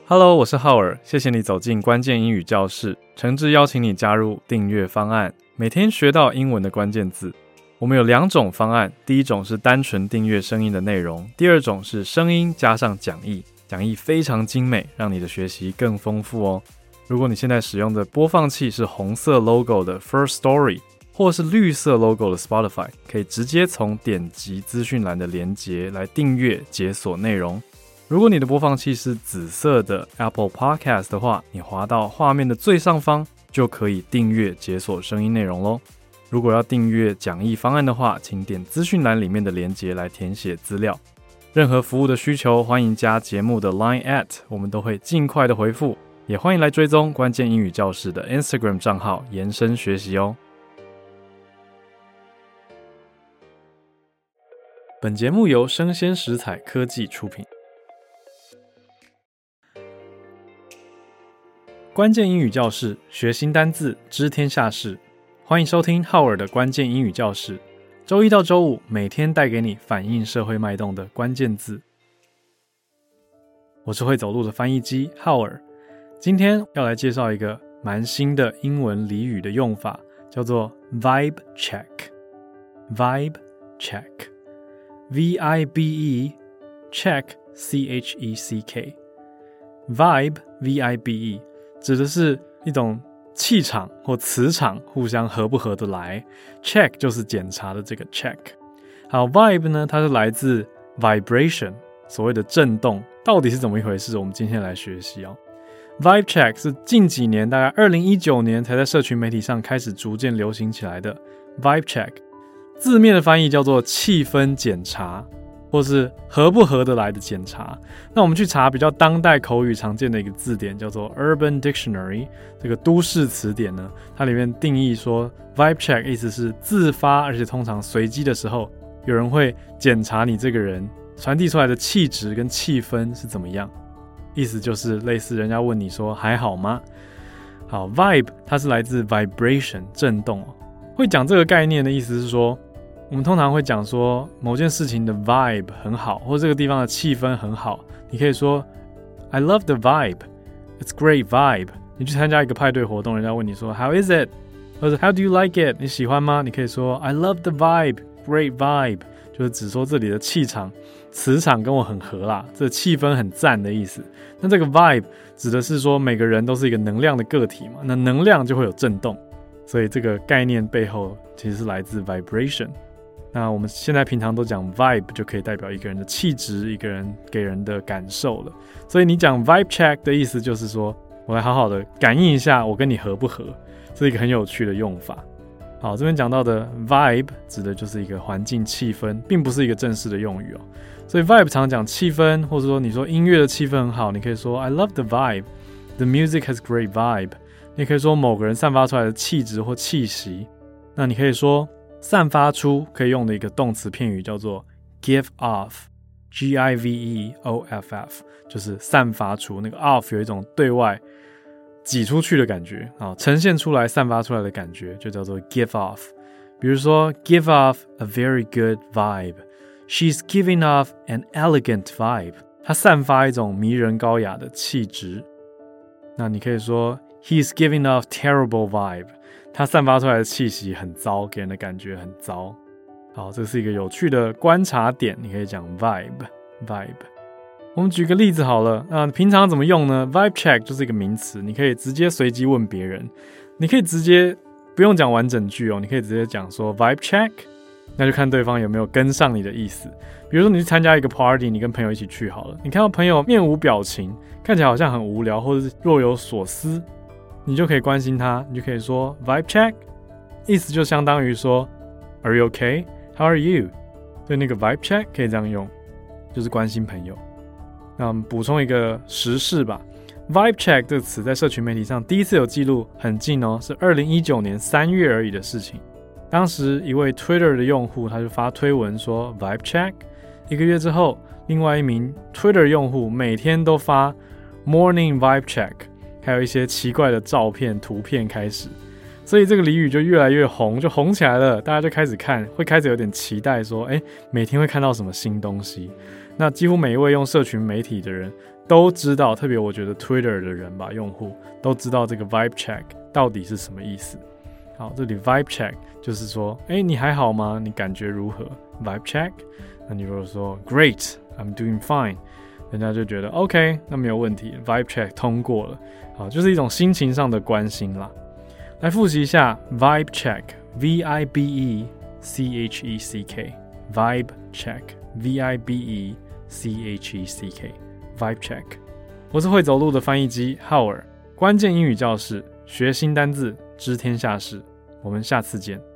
Hello， 我是浩爾，謝謝你走進關鍵英語教室，誠摯邀請你加入訂閱方案，每天學到英文的關鍵字。我們有2種方案，第一種是單純訂閱聲音的內容，第二種是聲音加上講義，講義非常精美，讓你的學習更豐富哦。如果你現在使用的播放器是紅色 logo 的 First Story， 或是綠色 logo 的 Spotify， 可以直接從點擊資訊欄的連結來訂閱解鎖內容。如果你的播放器是紫色的 Apple Podcast 的話，你滑到畫面的最上方就可以訂閱解鎖聲音內容咯。如果要訂閱講義方案的話，請點資訊欄裡面的連結來填寫資料。任何服務的需求，歡迎加節目的 Line@， 我們都會盡快的回復。也歡迎來追蹤關鍵英語教室的 Instagram 賬號，延伸學習哦。本節目由聲鮮時采科技出品。關鍵英語教室，學新單字，知天下事。歡迎收聽浩爾的關鍵英語教室，週一到週五每天帶給你反映社會脈動的關鍵字。我是會走路的翻譯機浩爾，今天要來介紹一個蠻新的英文俚語的用法，叫做 Vibe Check。Vibe Check，V-I-B-E Check C-H-E-C-K。Vibe V-I-B-E 指的是一種气场或磁场互相合不合得來， check 就是檢查的這個 check。 好， vibe 呢，它是來自 vibration， 所謂的震動，到底是怎麼一回事，我們今天來學習哦。 Vibe check 是近幾年大概2019年才在社群媒體上開始逐漸流行起來的。 Vibe check 字面的翻譯叫做氣氛檢查，或是合不合得來的檢查。那我們去查比較當代口語常見的一個字典，叫做 Urban Dictionary， 這個都市詞典呢，它裡面定義說 Vibe check 意思是自發而且通常隨機的時候，有人會檢查你這個人傳遞出來的氣質跟氣氛是怎麼樣。意思就是類似人家問你說還好嗎？好， Vibe 它是來自 vibration 震動。會講這個概念的意思是說，我們通常會講說某件事情的 vibe 很好，或者這個地方的氣氛很好。你可以說 I love the vibe, it's great vibe。 你去參加一個派對活動，人家問你說 How is it？ 或者 How do you like it？ 你喜歡嗎？你可以說 I love the vibe, great vibe， 就是指說這裡的氣場磁場跟我很合啦，這個氣氛很讚的意思。那這個 vibe 指的是說每個人都是一個能量的個體嘛，那能量就會有震動，所以這個概念背後其實是來自 vibration。那我們現在平常都講 vibe 就可以代表一個人的氣質，一個人給人的感受了。所以你講 vibe check 的意思就是說，我來好好的感應一下我跟你合不合，是一個很有趣的用法。好，這邊講到的 vibe 指的就是一個環境氣氛，並不是一個正式的用語哦。所以 vibe 常講氣氛，或者說你說音樂的氣氛很好，你可以說 I love the vibe, the music has great vibe。你可以說某個人散發出來的氣質或氣息。那你可以說散發出可以用的一個動詞片語叫做 give off， G-I-V-E-O-F-F， 就是散發出，那個 off 有一種對外擠出去的感覺，呈現出來散發出來的感覺就叫做 give off。 比如說 give off a very good vibe， She's giving off an elegant vibe， 她散發一種迷人高雅的氣質。那你可以說 He's giving off terrible vibe，它散發出來的氣息很糟，給人的感覺很糟。好，這是一個有趣的觀察點，你可以講 vibe。我們舉個例子好了，平常怎麼用呢？ Vibe check 就是一個名詞，你可以直接隨機問別人，你可以直接不用講完整句哦，你可以直接講說 vibe check， 那就看對方有沒有跟上你的意思。比如說你去參加一個 party， 你跟朋友一起去好了，你看到朋友面無表情，看起來好像很無聊或者是若有所思，你就可以關心他，你就可以說 vibe check， 意思就相當於說 Are you okay? How are you? 所以那個 vibe check 可以這樣用，就是關心朋友。那我們補充一個時事吧， vibe check 這個詞在社群媒體上第一次有記錄很近哦，是2019年3月而已的事情。當時一位 Twitter 的用戶他就發推文說 vibe check， 1個月之後，另外一名 Twitter 用戶每天都發 morning vibe check，還有一些奇怪的照片、圖片開始，所以這個俚語就越來越紅，就紅起來了。大家就開始看，會開始有點期待說，每天會看到什麼新東西。 那幾乎每一位用社群媒體的人都知道，特別我覺得 Twitter 的人吧，用戶都知道這個 Vibe Check 到底是什麼意思。好，這裡 Vibe Check 就是說，你還好嗎？你感覺如何 ？Vibe Check， 那你如果說 Great, I'm doing fine， 人家就覺得 OK， 那沒有問題 ，Vibe Check 通過了。好，就是一種心情上的關心啦。來複習一下 Vibe Check， V-I-B-E-C-H-E-C-K，Vibe Check， V-I-B-E-C-H-E-C-K， Vibe Check。我是會走路的翻譯機浩爾，關鍵英語教室，學新單字，知天下事。我們下次見。